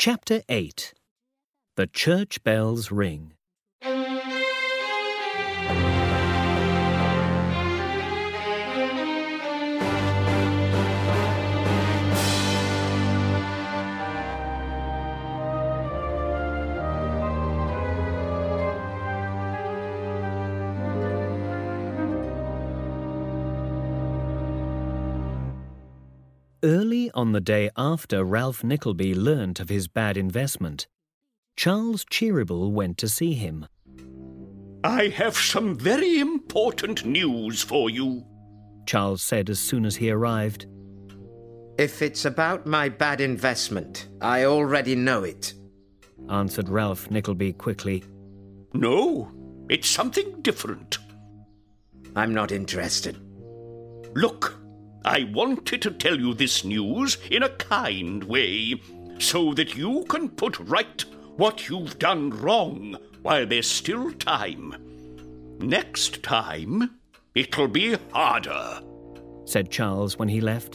Chapter 8. The Church Bells Ring. Early on the day after Ralph Nickleby learnt of his bad investment, Charles Cheeryble went to see him. "I have some very important news for you," Charles said as soon as he arrived. "If it's about my bad investment, I already know it," answered Ralph Nickleby quickly. "No, it's something different." "I'm not interested." "Look, I wanted to tell you this news in a kind way, so that you can put right what you've done wrong while there's still time. Next time, it'll be harder," said Charles when he left.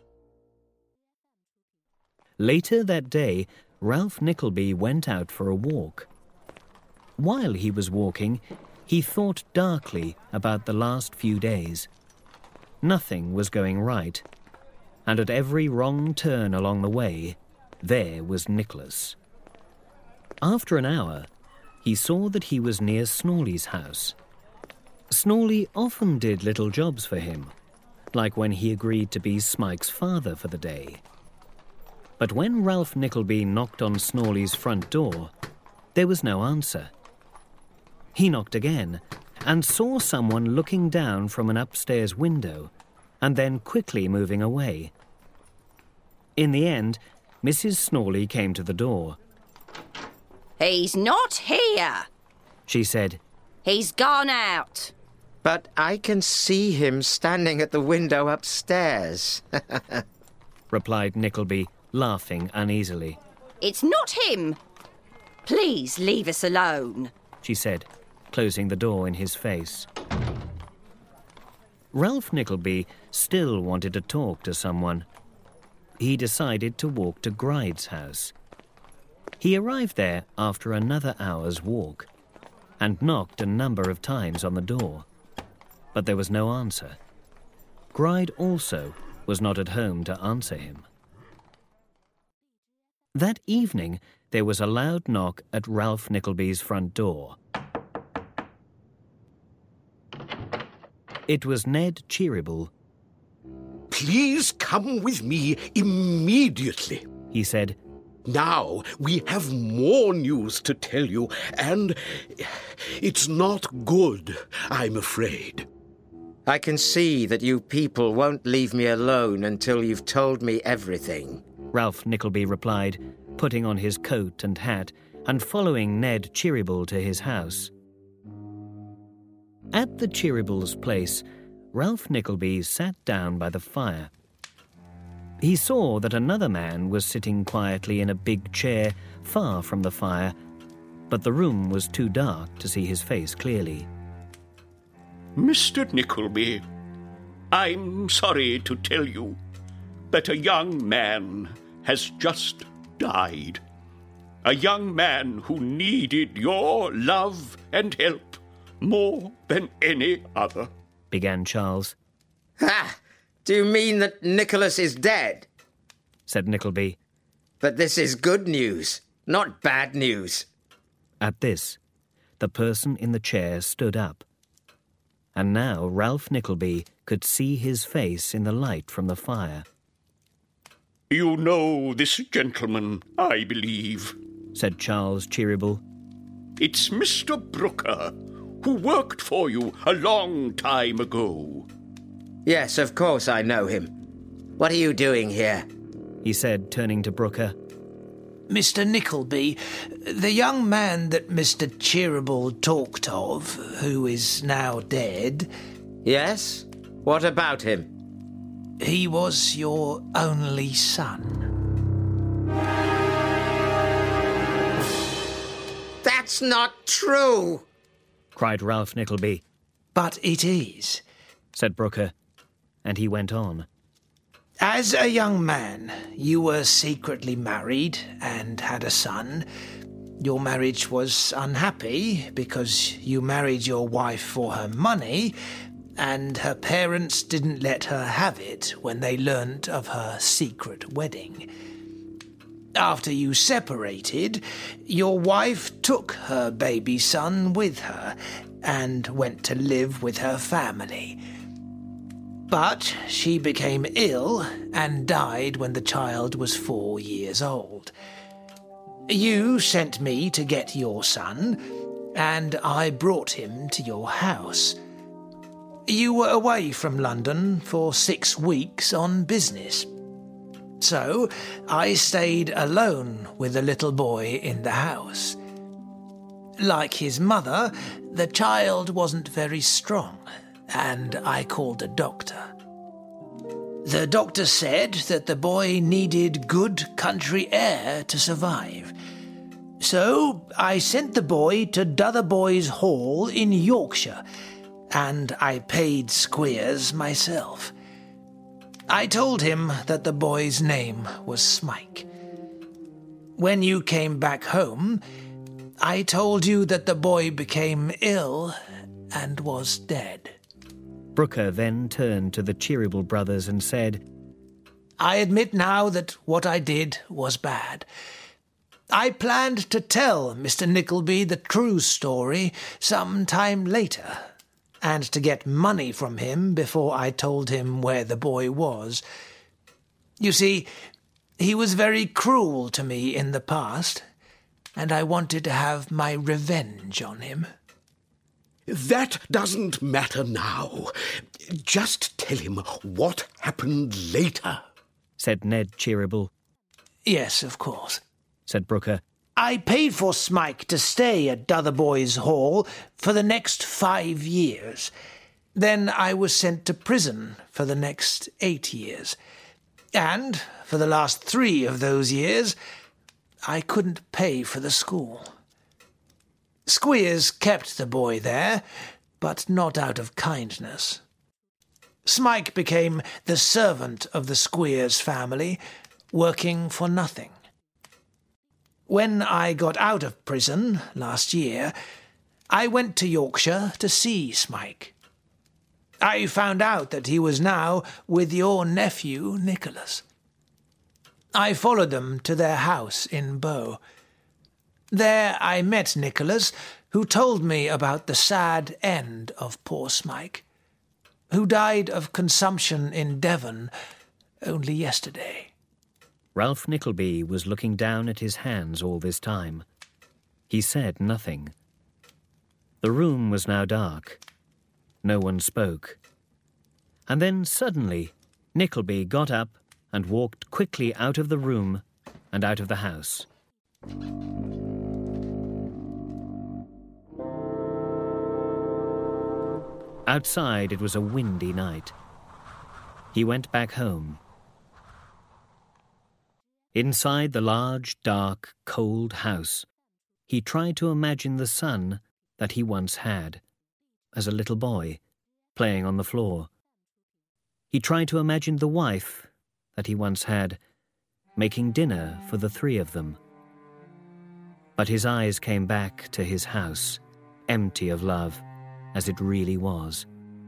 Later that day, Ralph Nickleby went out for a walk. While he was walking, he thought darkly about the last few days. Nothing was going right, and at every wrong turn along the way, there was Nicholas. After an hour, he saw that he was near Snawley's house. Snawley often did little jobs for him, like when he agreed to be Smike's father for the day. But when Ralph Nickleby knocked on Snawley's front door, there was no answer. He knocked again, and saw someone looking down from an upstairs window and then quickly moving away. In the end, Mrs. Snawley came to the door. "He's not here," she said. "He's gone out." "But I can see him standing at the window upstairs," replied Nickleby, laughing uneasily. "It's not him. Please leave us alone," she said, closing the door in his face. Ralph Nickleby still wanted to talk to someone. He decided to walk to Gride's house. He arrived there after another hour's walk and knocked a number of times on the door, but there was no answer. Gride also was not at home to answer him. That evening, there was a loud knock at Ralph Nickleby's front door. It was Ned Cheeryble. "Please come with me immediately," he said. "Now we have more news to tell you, and it's not good, I'm afraid." "I can see that you people won't leave me alone until you've told me everything," Ralph Nickleby replied, putting on his coat and hat and following Ned Cheeryble to his house. At the Cheerybles' place, Ralph Nickleby sat down by the fire. He saw that another man was sitting quietly in a big chair far from the fire, but the room was too dark to see his face clearly. "Mr. Nickleby, I'm sorry to tell you that a young man has just died. A young man who needed your love and help more than any other," began Charles. "Ha! Do you mean that Nicholas is dead?" said Nickleby. "But this is good news, not bad news." At this, the person in the chair stood up, and now Ralph Nickleby could see his face in the light from the fire. "You know this gentleman, I believe," said Charles Cheeryble. "It's Mr. Brooker, who worked for you a long time ago." "Yes, of course I know him. What are you doing here?" he said, turning to Brooker. "Mr. Nickleby, the young man that Mr. Cheeryble talked of, who is now dead..." "Yes? What about him?" "He was your only son." "That's not true!" cried Ralph Nickleby. "But it is," said Brooker, and he went on. As a young man, you were secretly married and had a son. Your marriage was unhappy because you married your wife for her money, and her parents didn't let her have it when they learnt of her secret wedding. After you separated, your wife took her baby son with her and went to live with her family. But she became ill and died when the child was 4 years old. You sent me to get your son, and I brought him to your house. You were away from London for 6 weeks on business. So I stayed alone with the little boy in the house. Like his mother, the child wasn't very strong, and I called a doctor. The doctor said that the boy needed good country air to survive. So I sent the boy to Dotheboys Hall in Yorkshire, and I paid Squeers myself. I told him that the boy's name was Smike. When you came back home, I told you that the boy became ill and was dead. Brooker then turned to the Cheeryble brothers and said, I admit now that what I did was bad. I planned to tell Mr. Nickleby the true story some time later, and to get money from him before I told him where the boy was. You see, he was very cruel to me in the past, and I wanted to have my revenge on him. That doesn't matter now. Just tell him what happened later, said Ned Cheeryble. Yes, of course, said Brooker. I paid for Smike to stay at Dotheboys Hall for the next 5 years. Then I was sent to prison for the next 8 years. And for the last 3 of those years, I couldn't pay for the school. Squeers kept the boy there, but not out of kindness. Smike became the servant of the Squeers family, working for nothing. When I got out of prison last year, I went to Yorkshire to see Smike. I found out that he was now with your nephew, Nicholas. I followed them to their house in Bow. There I met Nicholas, who told me about the sad end of poor Smike, who died of consumption in Devon only yesterday. Ralph Nickleby was looking down at his hands all this time. He said nothing. The room was now dark. No one spoke. And then suddenly Nickleby got up and walked quickly out of the room and out of the house. Outside it was a windy night. He went back home. Inside the large, dark, cold house, he tried to imagine the son that he once had, as a little boy, playing on the floor. He tried to imagine the wife that he once had, making dinner for the 3 of them. But his eyes came back to his house, empty of love, as it really was.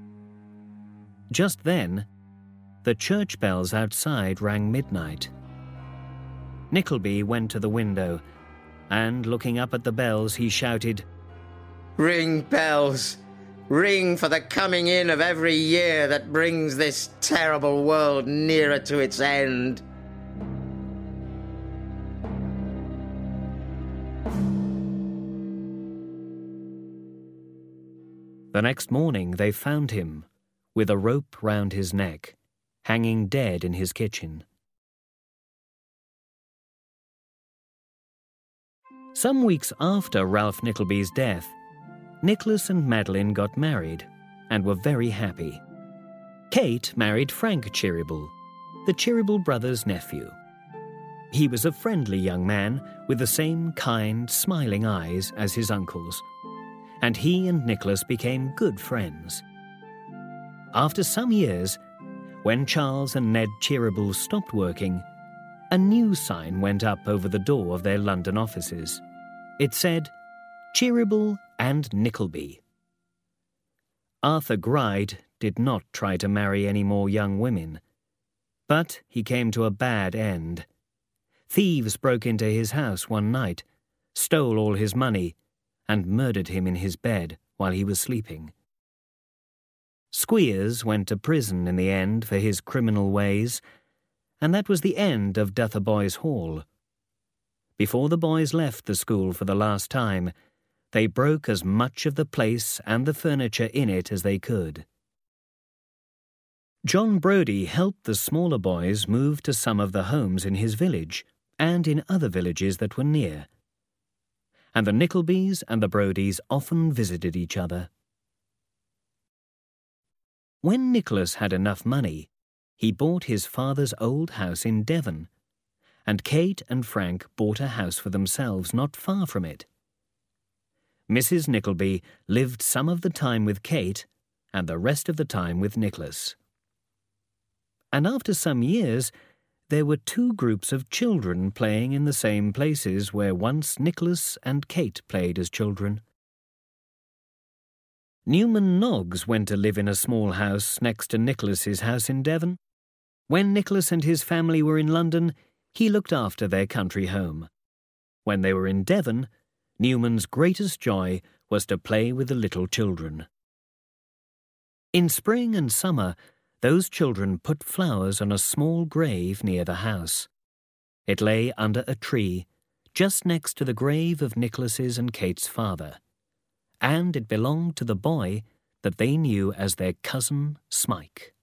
Just then, the church bells outside rang midnight. Nickleby went to the window, and looking up at the bells, he shouted, Ring, bells! Ring for the coming in of every year that brings this terrible world nearer to its end. The next morning they found him, with a rope round his neck, hanging dead in his kitchen. Some weeks after Ralph Nickleby's death, Nicholas and Madeline got married and were very happy. Kate married Frank Cheeryble, the Cheeryble brothers' nephew. He was a friendly young man with the same kind, smiling eyes as his uncles, and he and Nicholas became good friends. After some years, When Charles and Ned Cheeryble stopped working, a new sign went up over the door of their London offices. It said, Cheeryble and Nickleby. Arthur Gride did not try to marry any more young women, but he came to a bad end. Thieves broke into his house one night, stole all his money, and murdered him in his bed while he was sleeping. Squeers went to prison in the end for his criminal ways, and that was the end of Dotheboys Hall. Before the boys left the school for the last time, they broke as much of the place and the furniture in it as they could. John Brodie helped the smaller boys move to some of the homes in his village and in other villages that were near. And the Nicklebys and the Brodies often visited each other. When Nicholas had enough money, he bought his father's old house in Devon, and Kate and Frank bought a house for themselves not far from it. Mrs. Nickleby lived some of the time with Kate and the rest of the time with Nicholas. And after some years, there were two groups of children playing in the same places where once Nicholas and Kate played as children. Newman Noggs went to live in a small house next to Nicholas's house in Devon. When Nicholas and his family were in London, he looked after their country home. When they were in Devon, Newman's greatest joy was to play with the little children. In spring and summer, those children put flowers on a small grave near the house. It lay under a tree, just next to the grave of Nicholas's and Kate's father, and it belonged to the boy that they knew as their cousin Smike.